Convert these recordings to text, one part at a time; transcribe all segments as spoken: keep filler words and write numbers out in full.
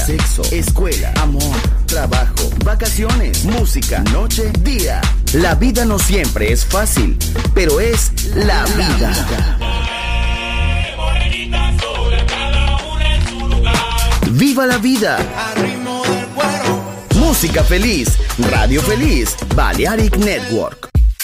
sexo, escuela, amor, trabajo, vacaciones, música, noche, día. La vida no siempre es fácil, pero es la vida. ¡Viva la vida! Música feliz, radio feliz, Balearic Network.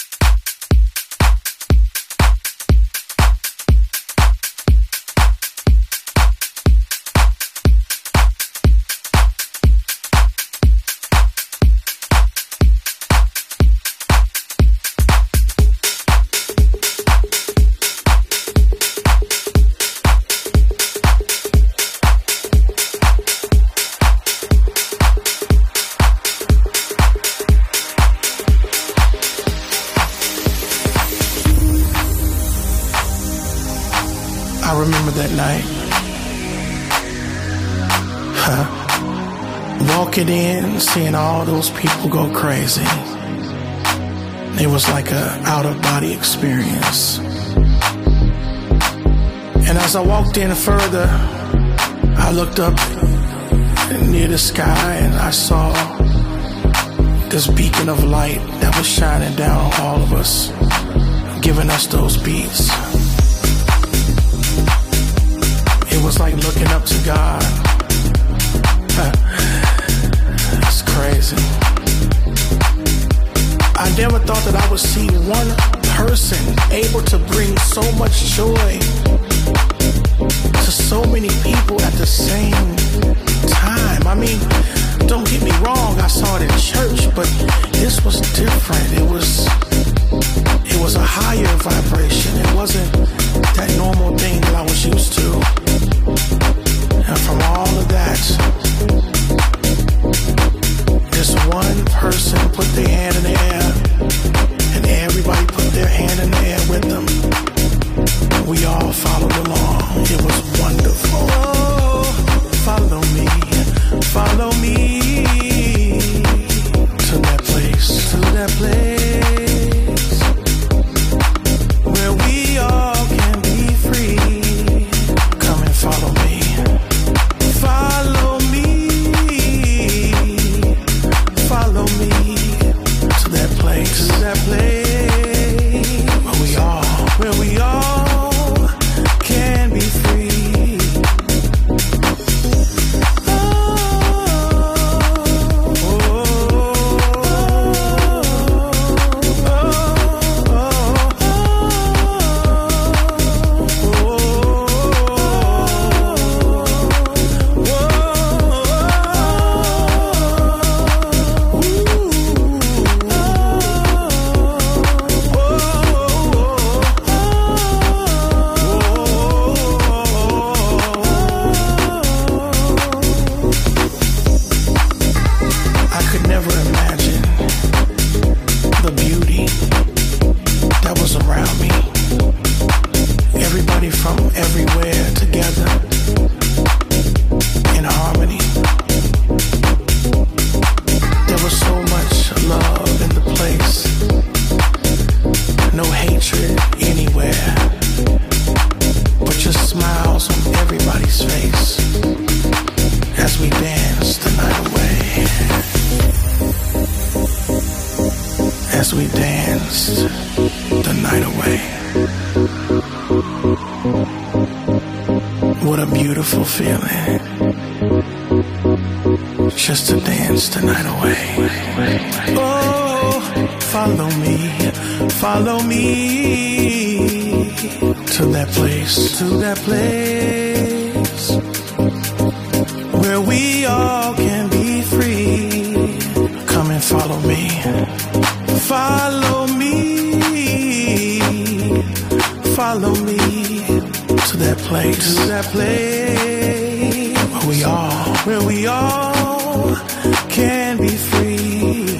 Walking in, seeing all those people go crazy. It was like a out-of-body experience. And as I walked in further, I looked up near the sky and I saw this beacon of light that was shining down on all of us, giving us those beats. It was like looking up to God. It's crazy. I never thought that I would see one person able to bring so much joy to so many people at the same time. I mean, don't get me wrong, I saw it in church, but this was different. It was it was a higher vibration. It wasn't that normal thing that I was used to. And from all of that, this one person put their hand in the air, and everybody put their hand in the air with them. We all followed along. It was wonderful. Oh, follow me, follow me to that place, to that place where we all can be free. Come and follow me. Follow me, follow me to that place, to that place where we all, where we all can be free. Oh, oh, I could never imagine the beauty that was around me. Everybody from everywhere together in harmony. There was so much love in the place. No hatred anywhere, but just smiles on everybody's face as we danced the night away. As we danced the night away. What a beautiful feeling, just to dance the night away. Oh, follow me, follow me to that place, to that place where we all can be free. Come and follow me. Follow me, follow me to that place, to that place where we all, where we all can be free.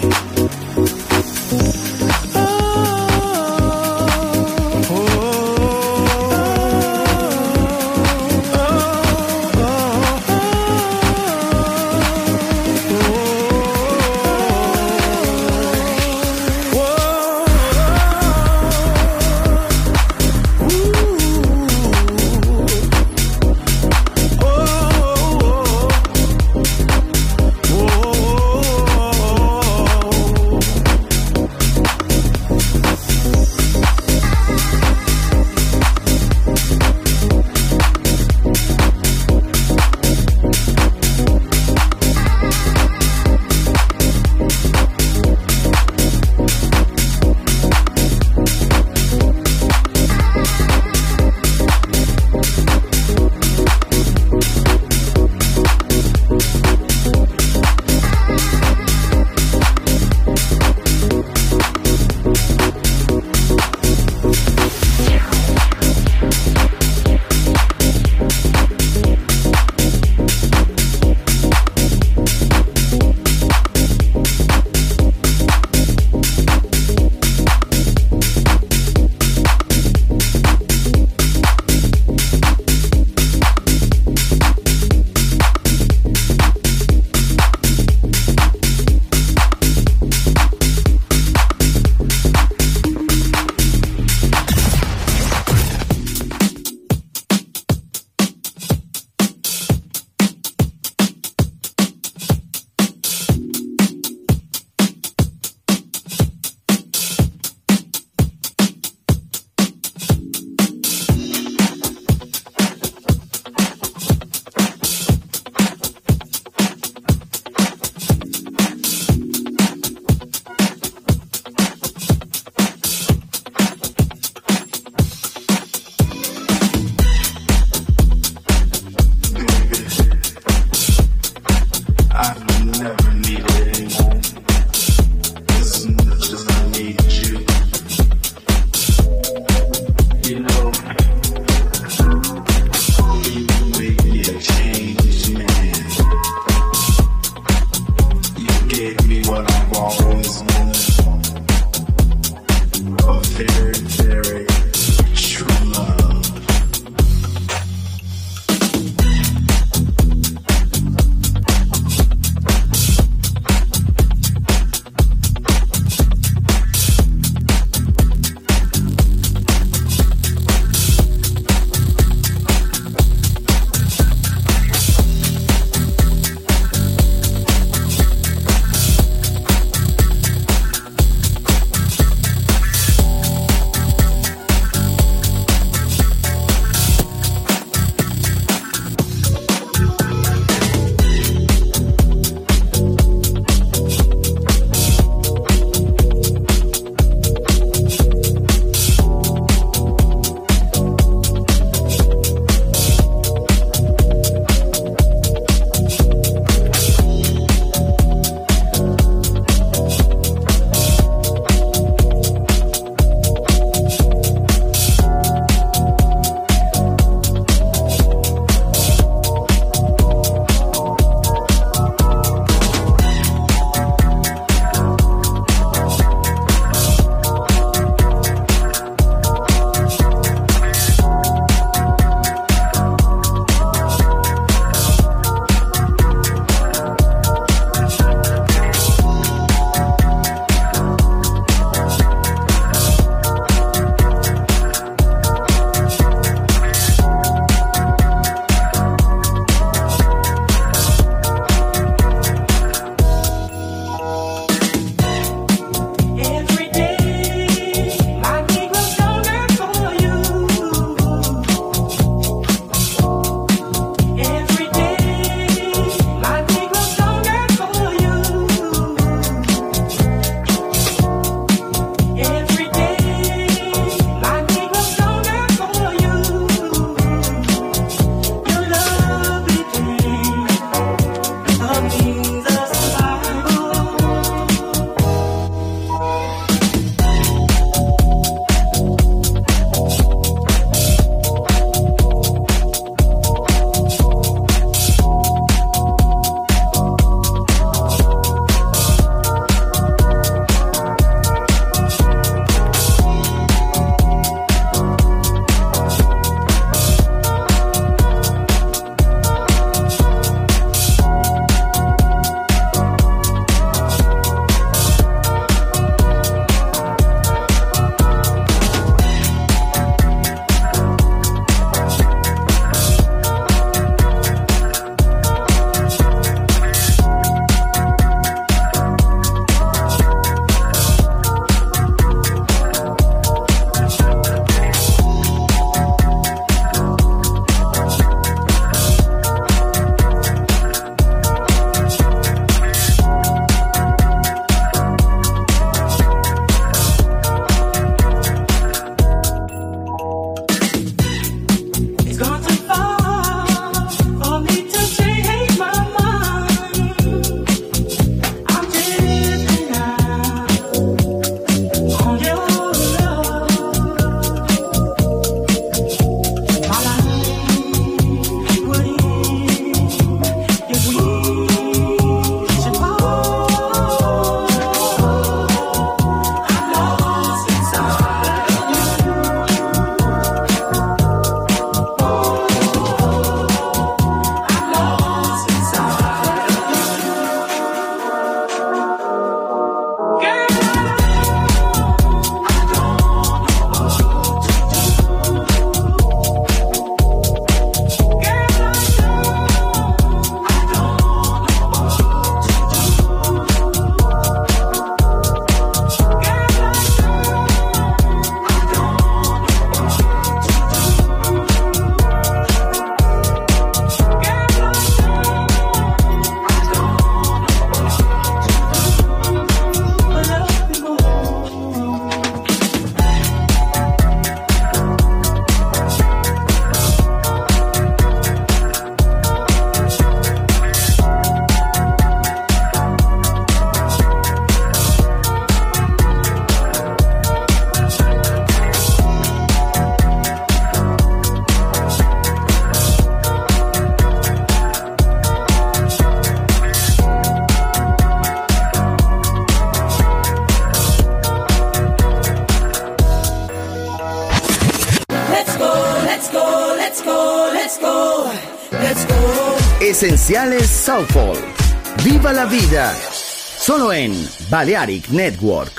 Let's go, let's go. Esenciales Soulful. Viva la vida. Solo en Balearic Network.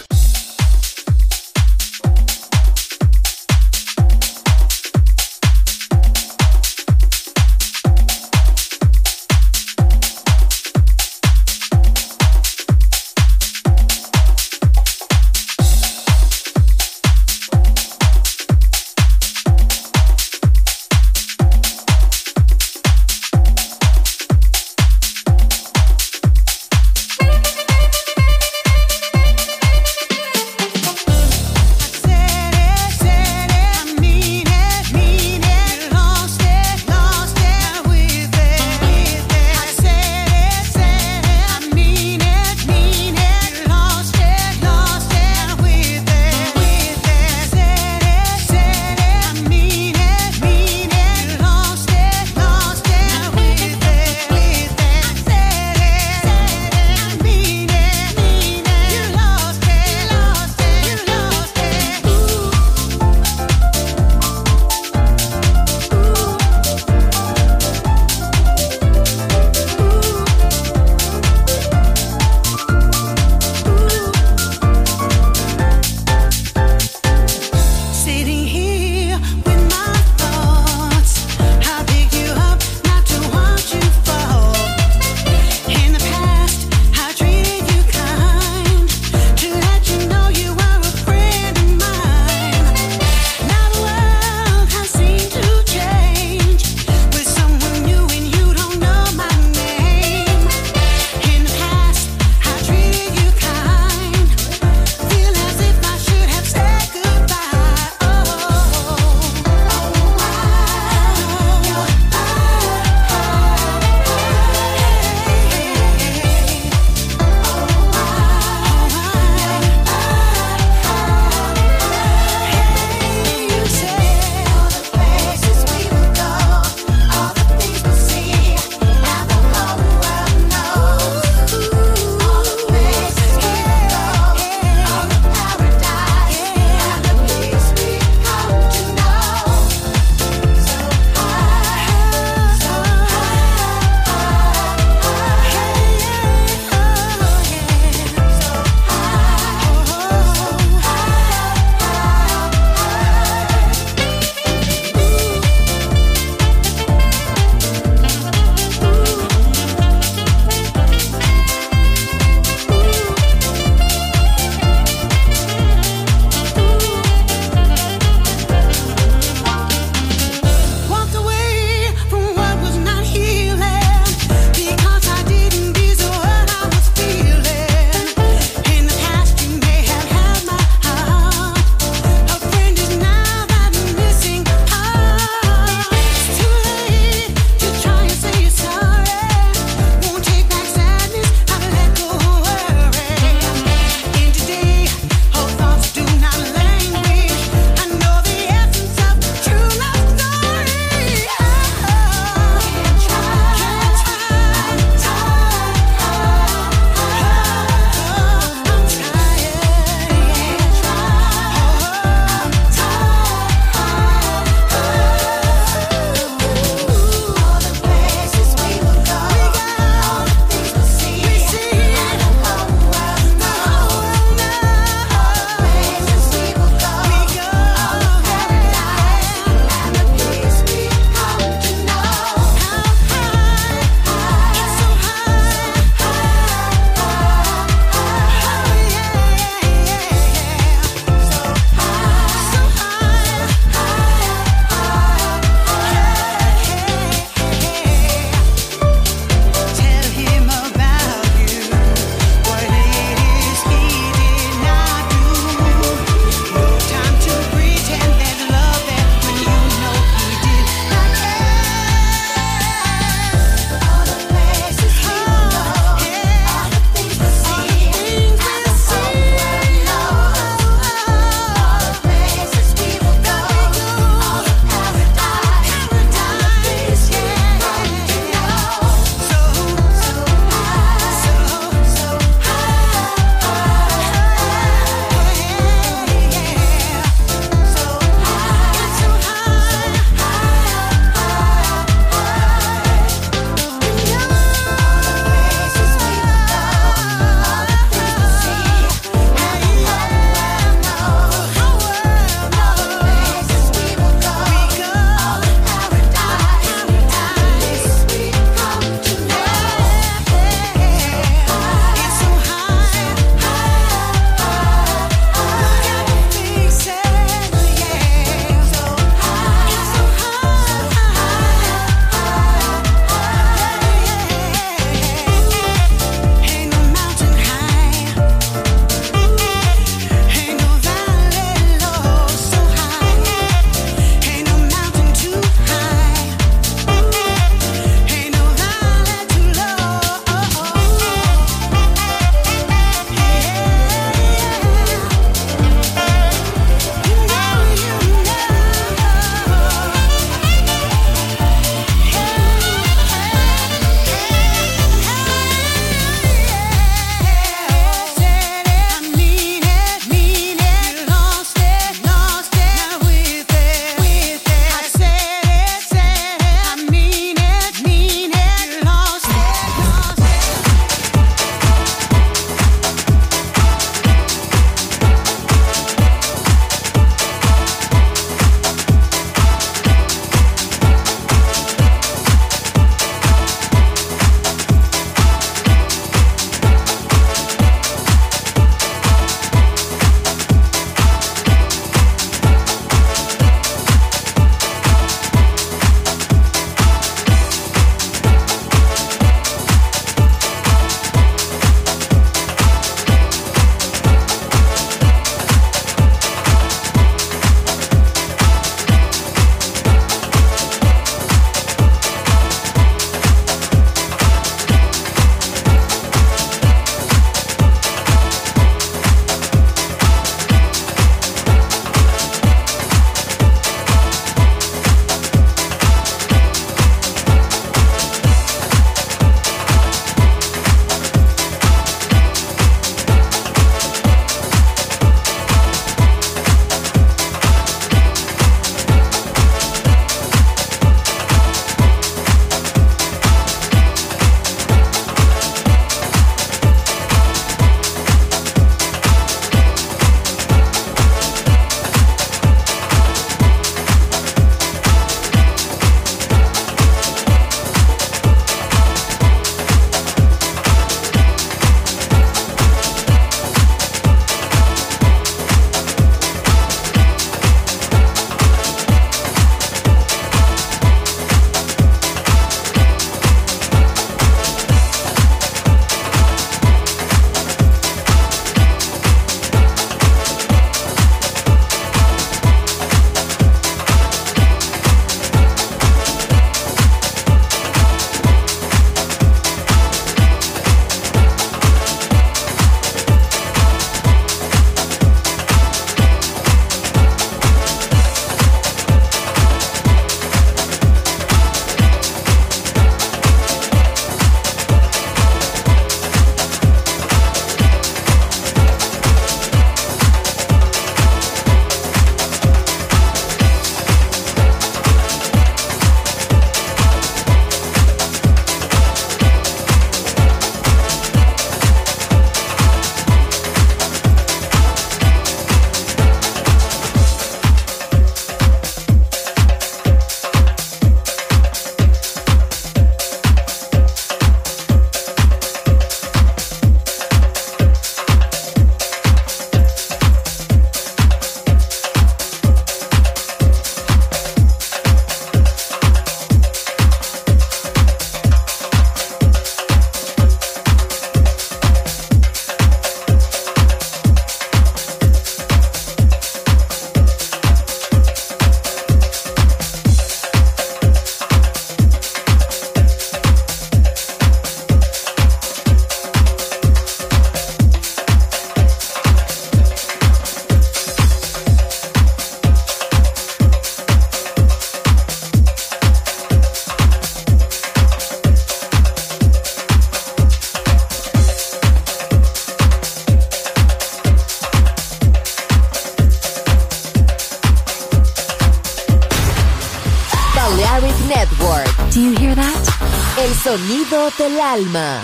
Do you hear that? El sonido del alma.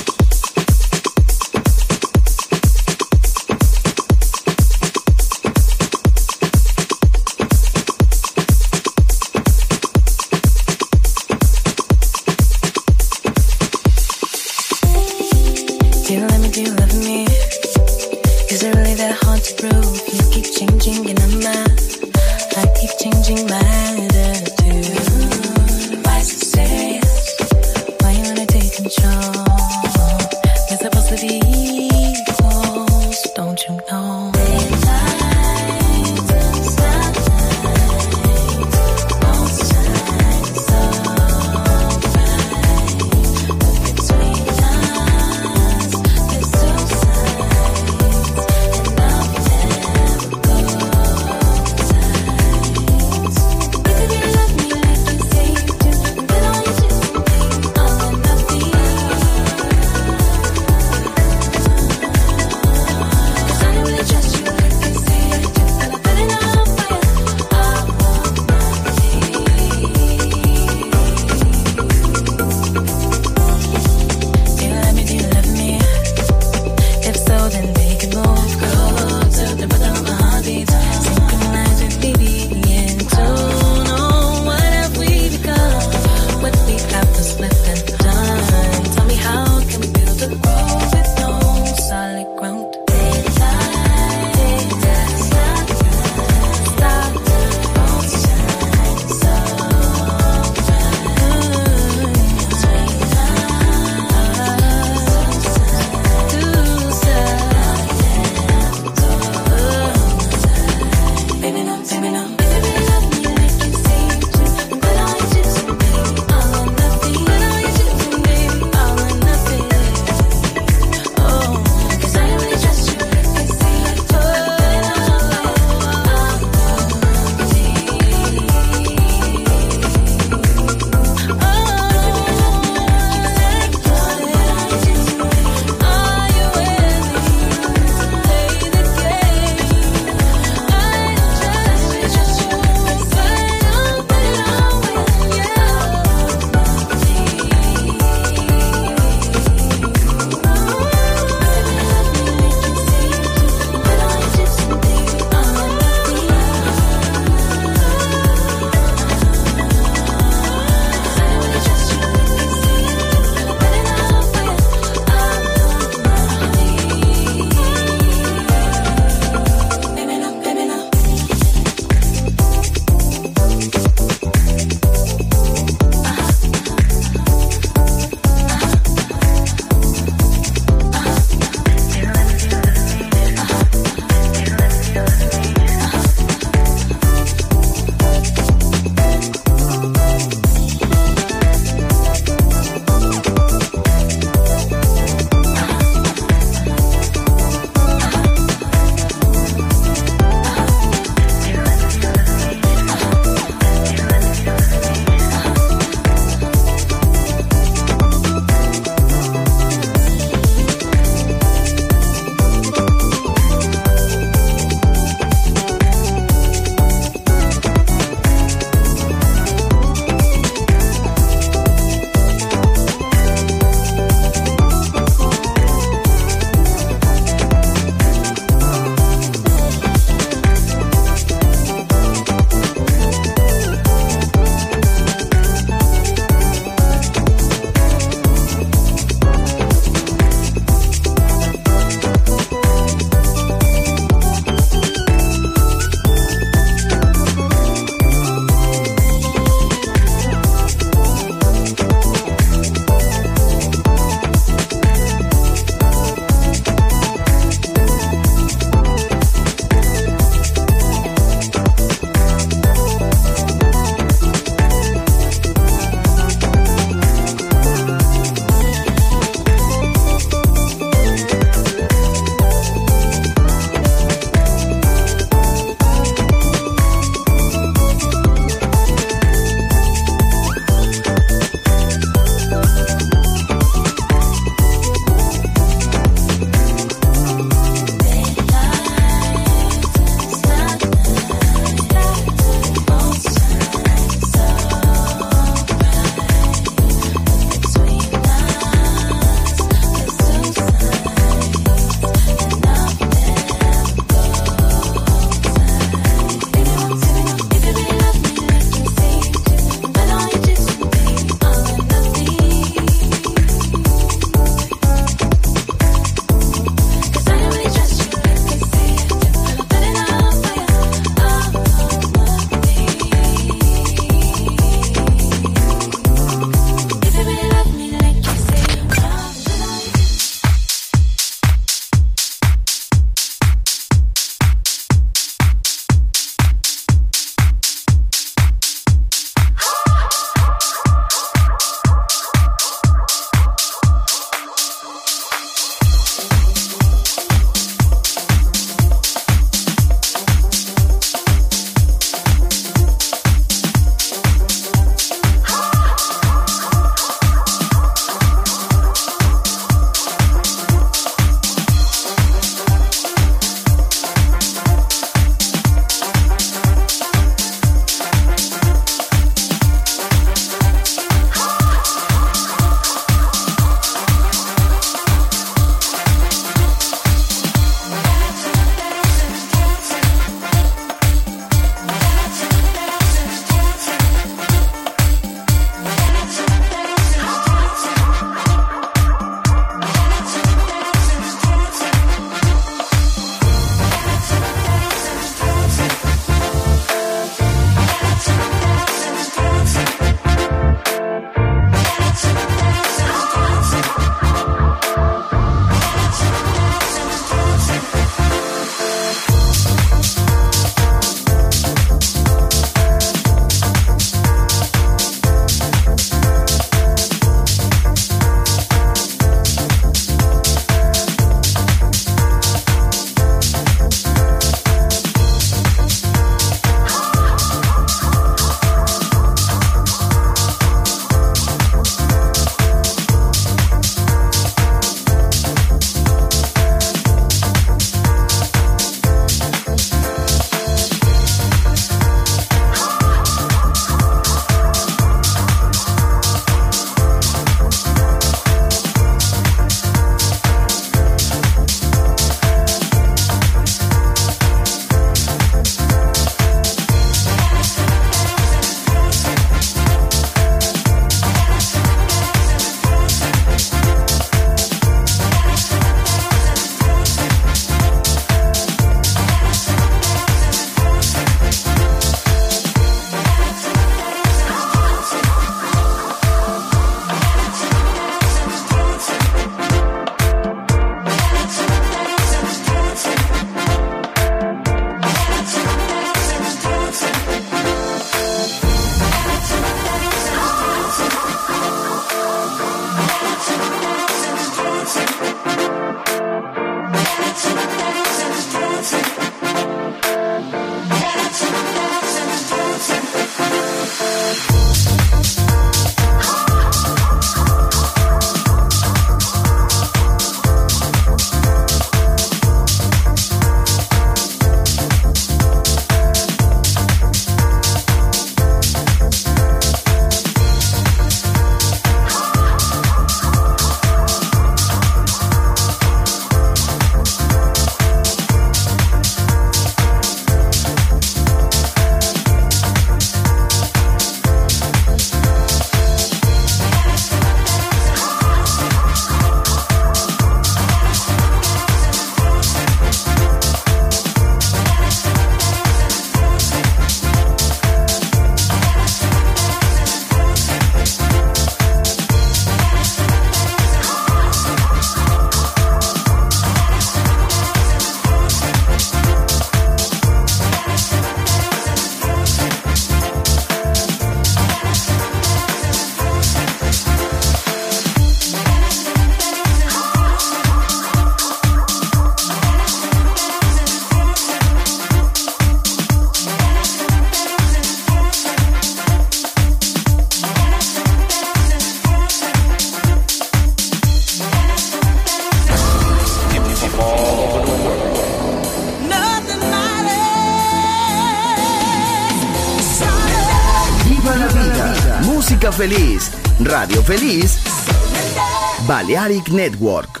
música feliz, radio feliz, Balearic Network.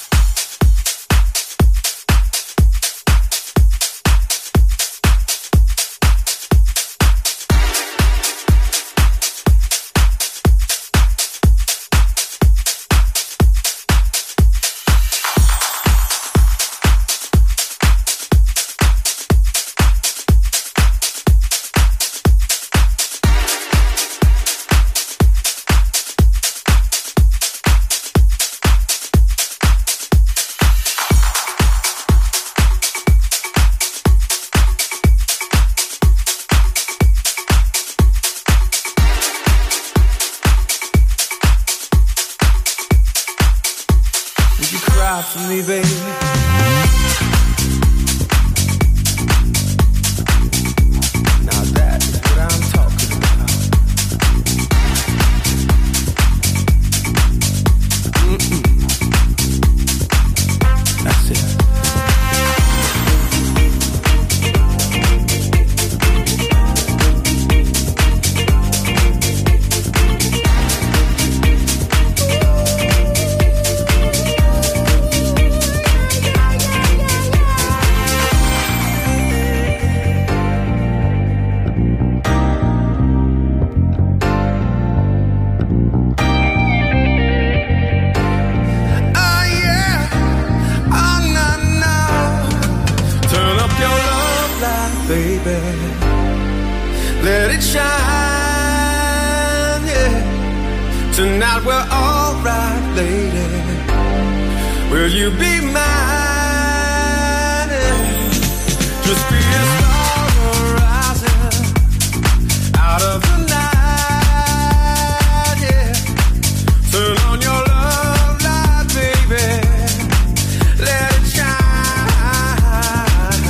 For me, baby. Now that's what I'm talking about. Mm-mm. That's it. Tonight we're alright, lady. Will you be mine? Just be a star rising out of the night, yeah. Turn on your love light, baby. Let it shine.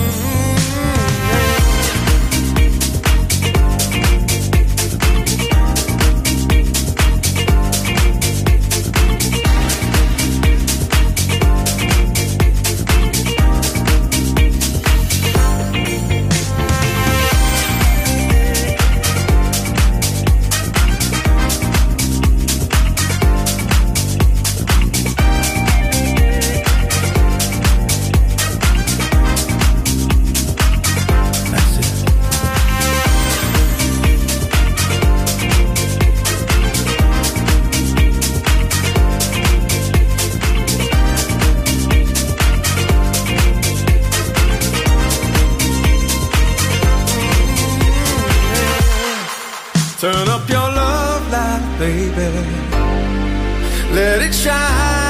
Turn up your love light, baby. Let it shine,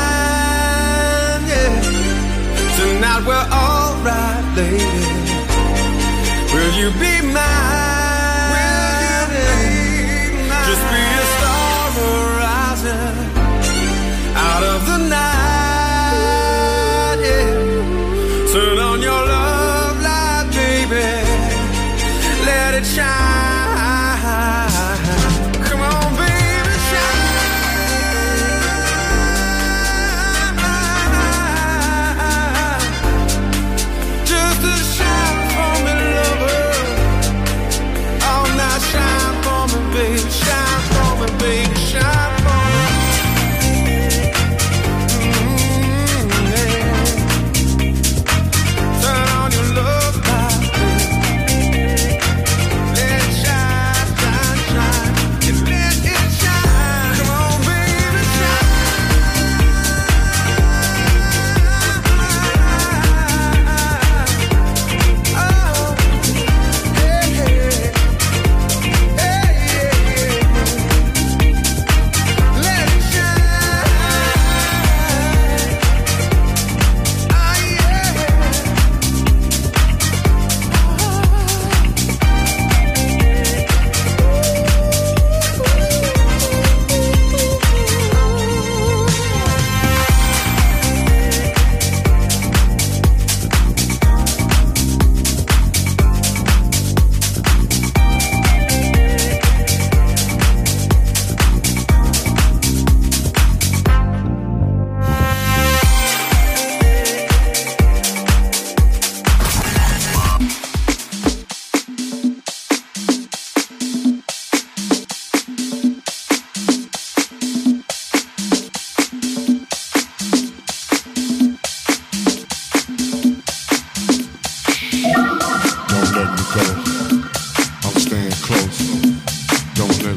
yeah. Tonight we're alright, lady. Will you be mine? Will you be mine? Just be a star rising out of the night, yeah. Turn on your love light, baby. Let it shine.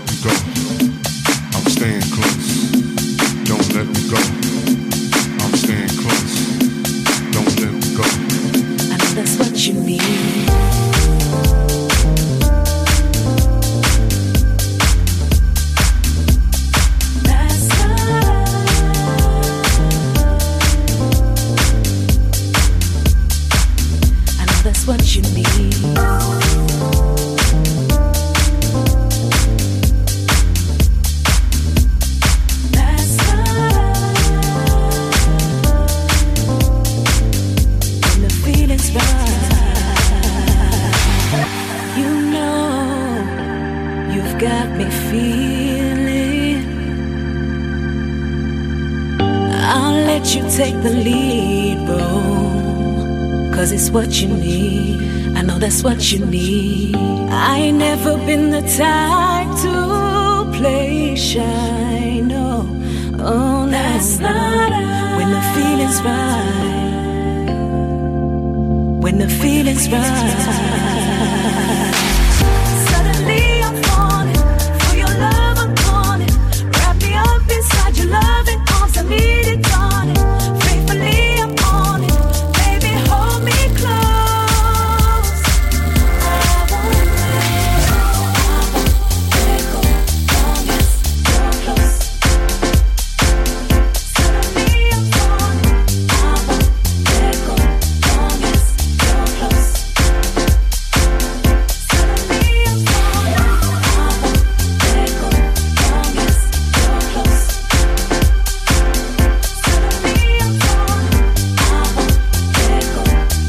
me go. I'm staying close. Don't let me go. I'm staying close. Don't let me go. I know that's what you need. What you need. That's love. When the feeling's right, you know you've got me feeling. I'll let you take the lead, bro. 'Cause it's what you need. I know that's what you need. I ain't never been the type to play shy, no. Oh, that's not right. When the feeling's right. When the feeling's right. Suddenly I'm falling. For your love I'm calling. Wrap me up inside your loving arms. I need it, darling. Faithfully I'm on it. Hold me close. I won't let go. Long as you're close. Suddenly I'm falling. I won't let go. Long as you're close. Suddenly I'm falling. I won't let go. Long as you're close. Suddenly I'm falling. I won't let go.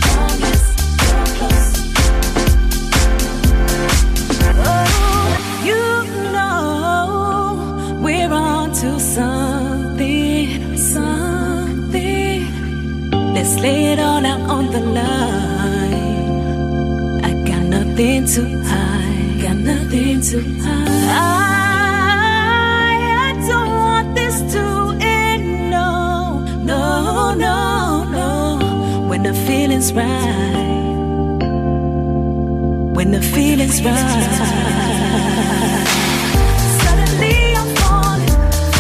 Something, something. Let's lay it all out on the line. I got nothing to hide, got nothing to hide. I, I don't want this to end, no, no, no, no. When the feeling's right, when the feeling's right. Suddenly I'm falling.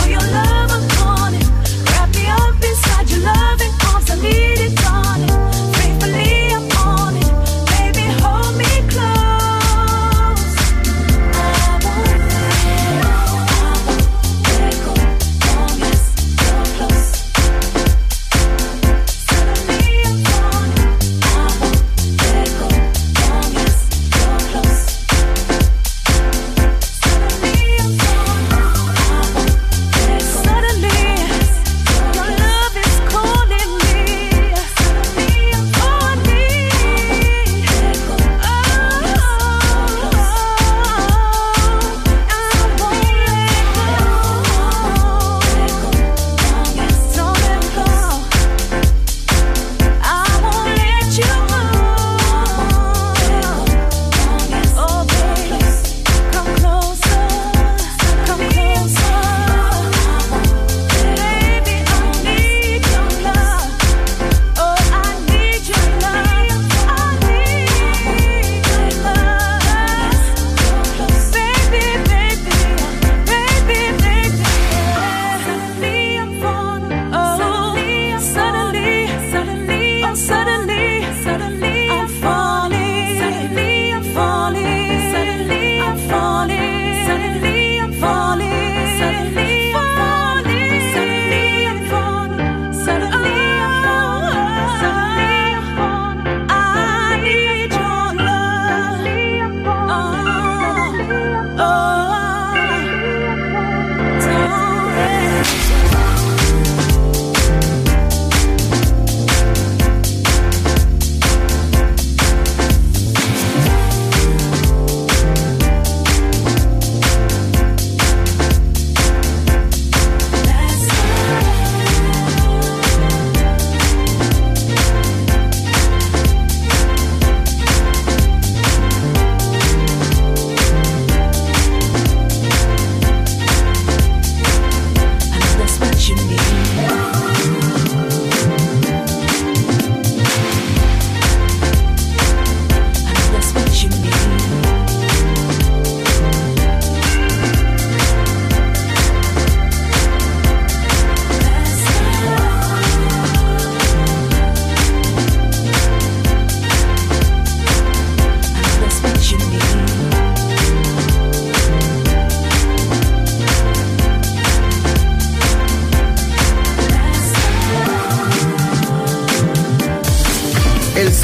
Inside your loving arms, I need it, darling. Faithfully I'm on it. Baby, hold me close. I won't let go. Long as you're close. Suddenly I'm falling. I won't let go. Long as you're close.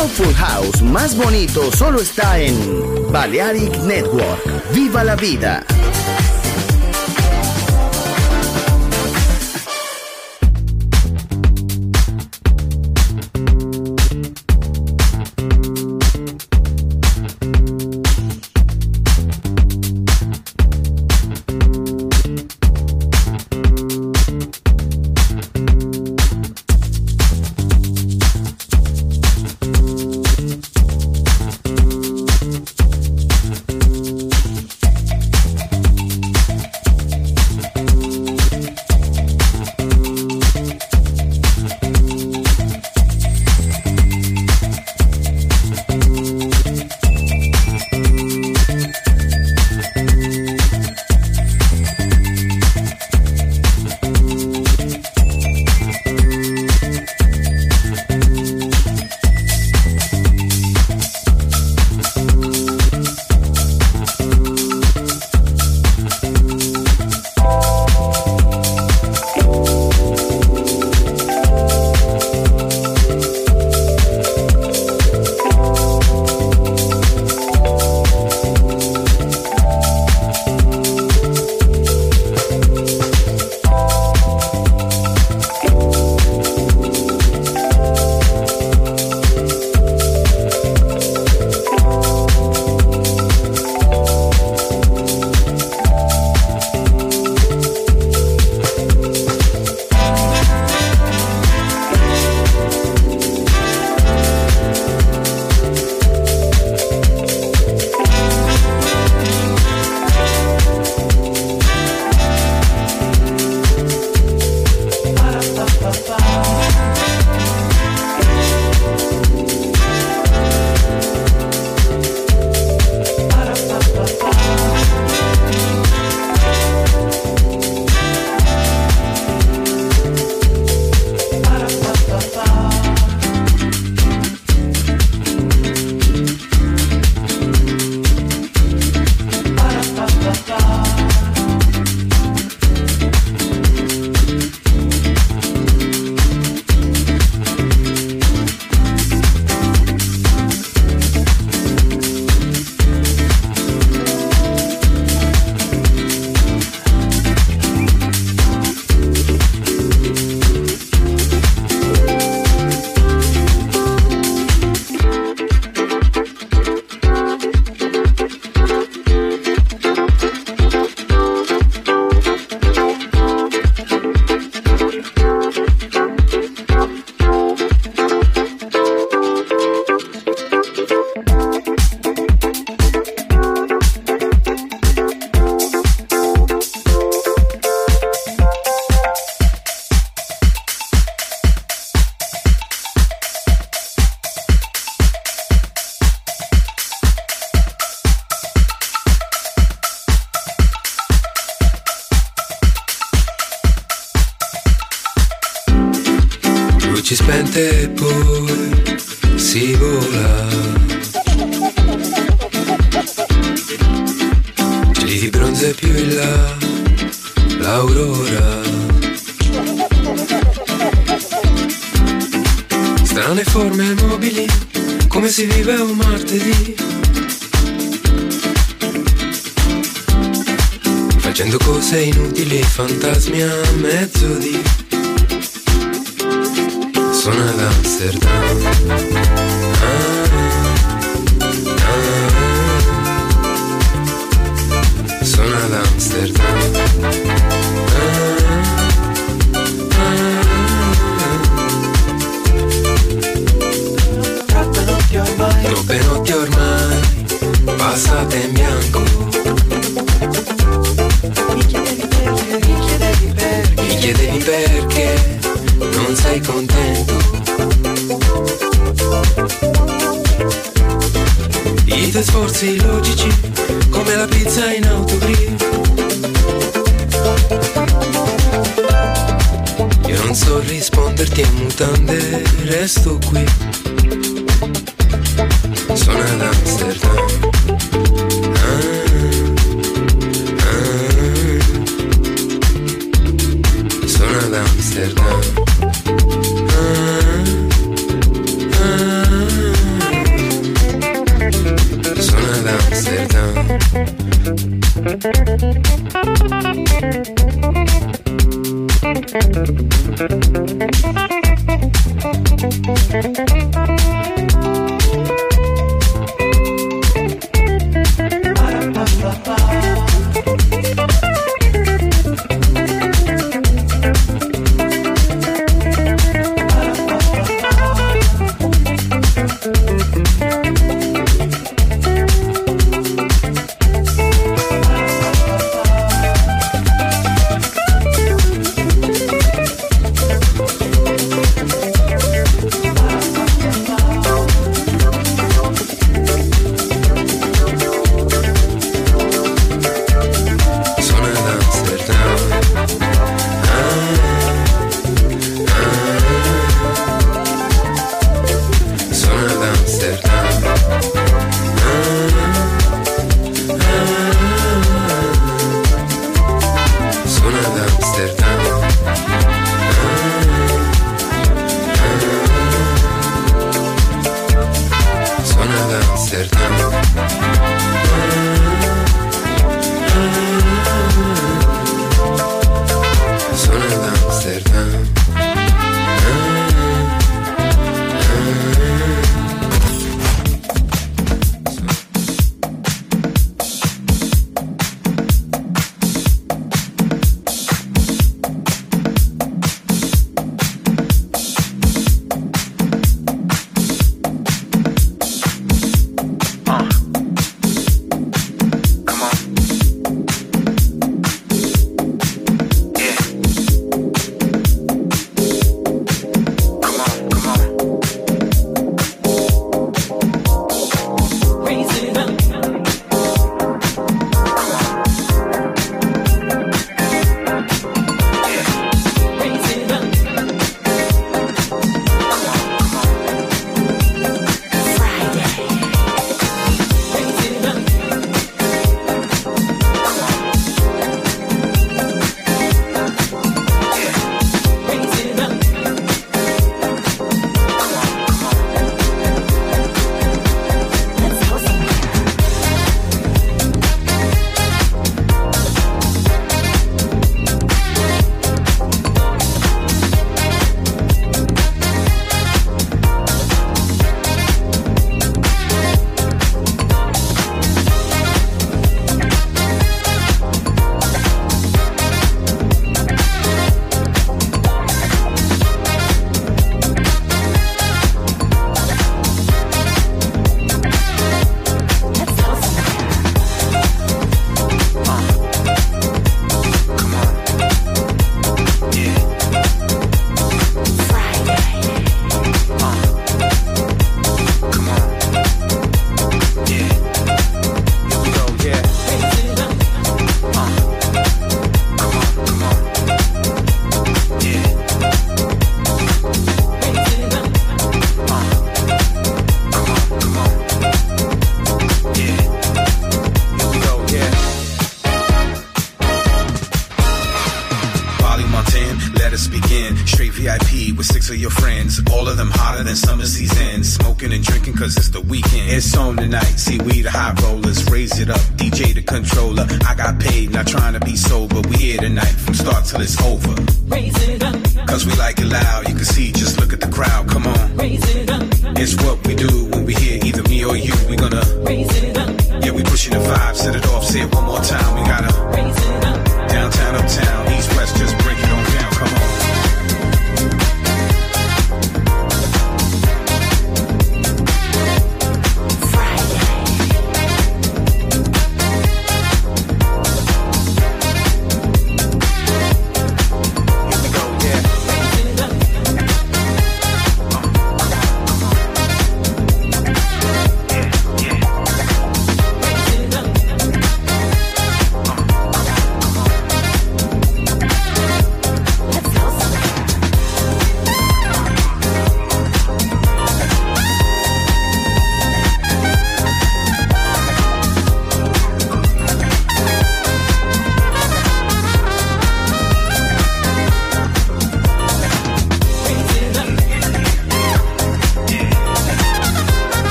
Soulful House más bonito solo está en Balearic Network. ¡Viva la vida! luci spente e poi si vola. Cieli di bronzo e più in là l'aurora. Strane forme mobili, come si vive un martedì, facendo cose inutili, fantasmi a mezzodì. Sono ad Amsterdam, ah, ah, sono ad Amsterdam, ah, ah, troppe notti ormai passate in bianco. Mi chiedevi perché, mi chiedevi perché, mi chiedevi perché non sei contento. I tuoi sforzi logici come la pizza in autogrill. Io non so risponderti a mutande, resto qui. Sono ad Amsterdam, ah, ah, sono ad Amsterdam. Ah, ah,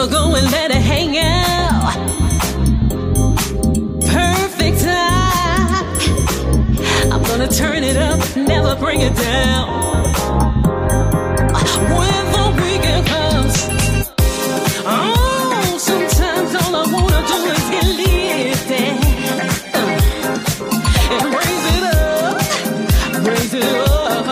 gonna go and let it hang out. Perfect time. I'm gonna turn it up, never bring it down. When the weekend comes, oh, sometimes all I wanna do is get lifted uh, and raise it up, raise it up.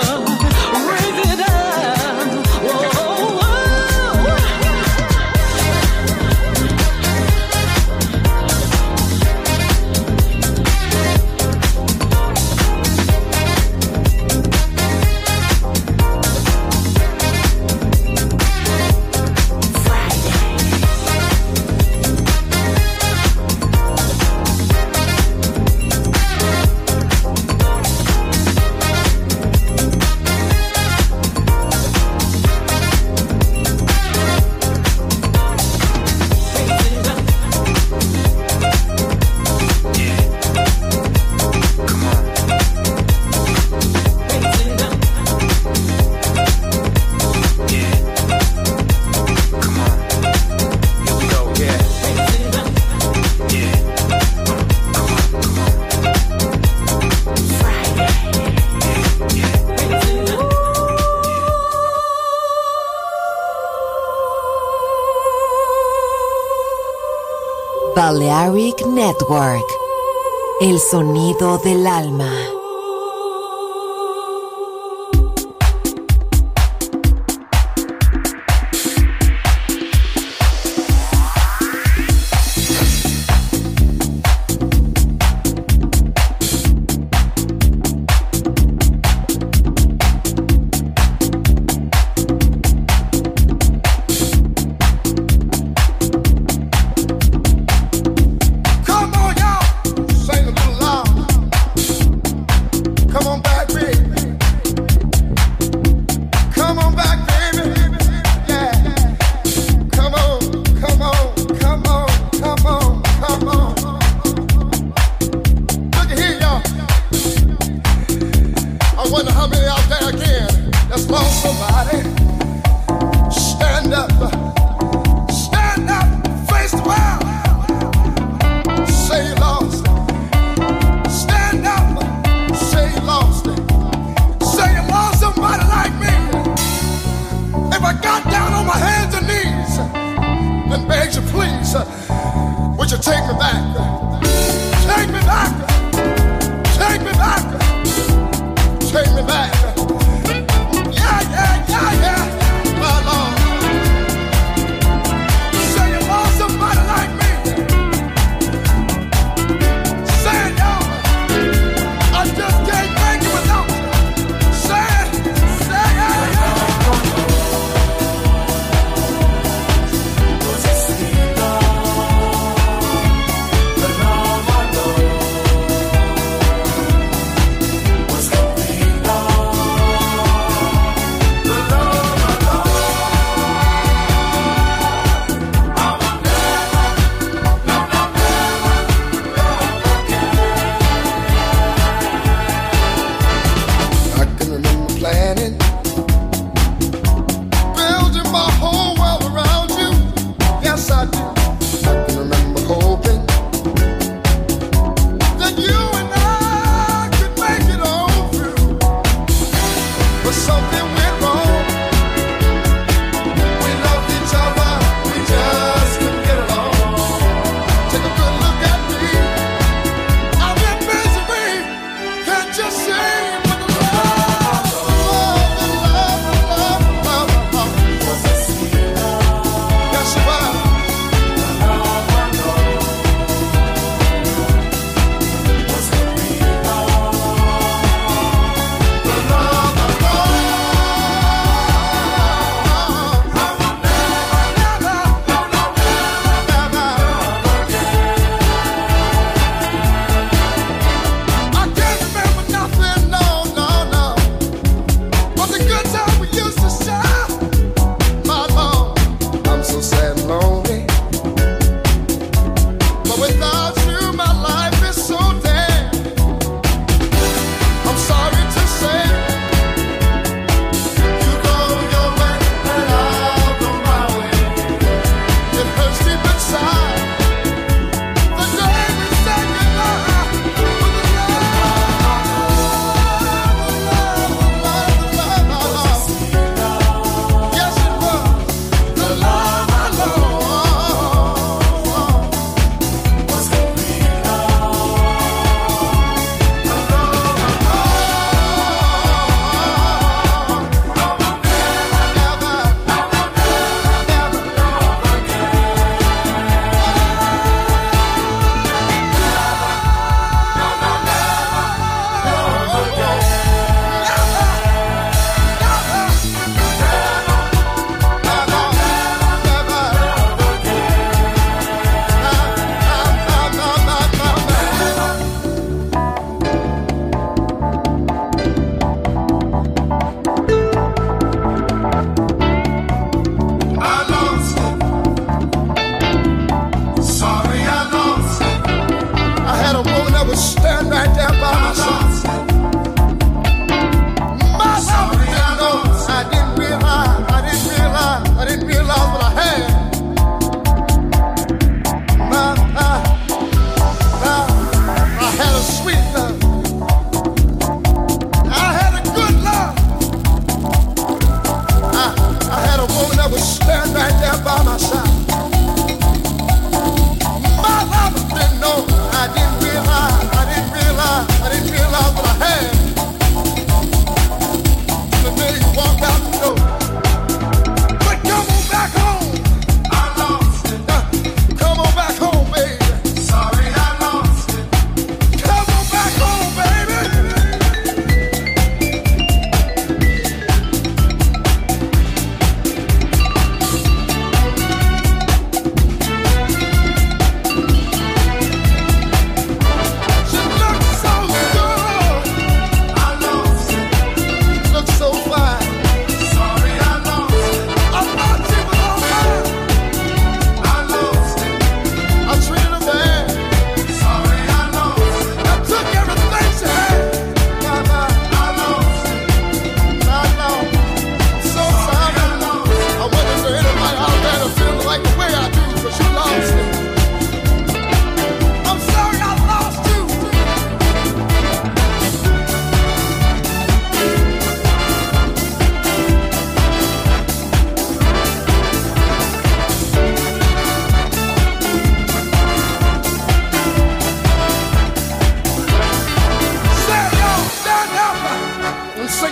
Balearic Network, el sonido del alma.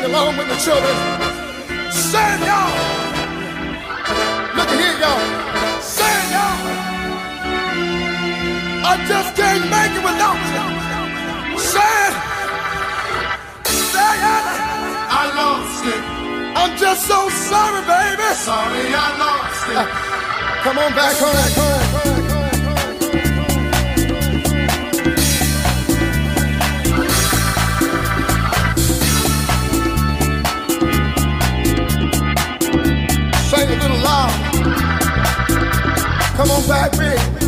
sing along with the children. Sing, y'all. Look at here, y'all. Sing, y'all. I just can't make it without you. Sing. Say it. I lost it. I'm just so sorry, baby. Sorry, I lost it. Uh, come on back home. Back home. Sing a little loud. Come on back, big.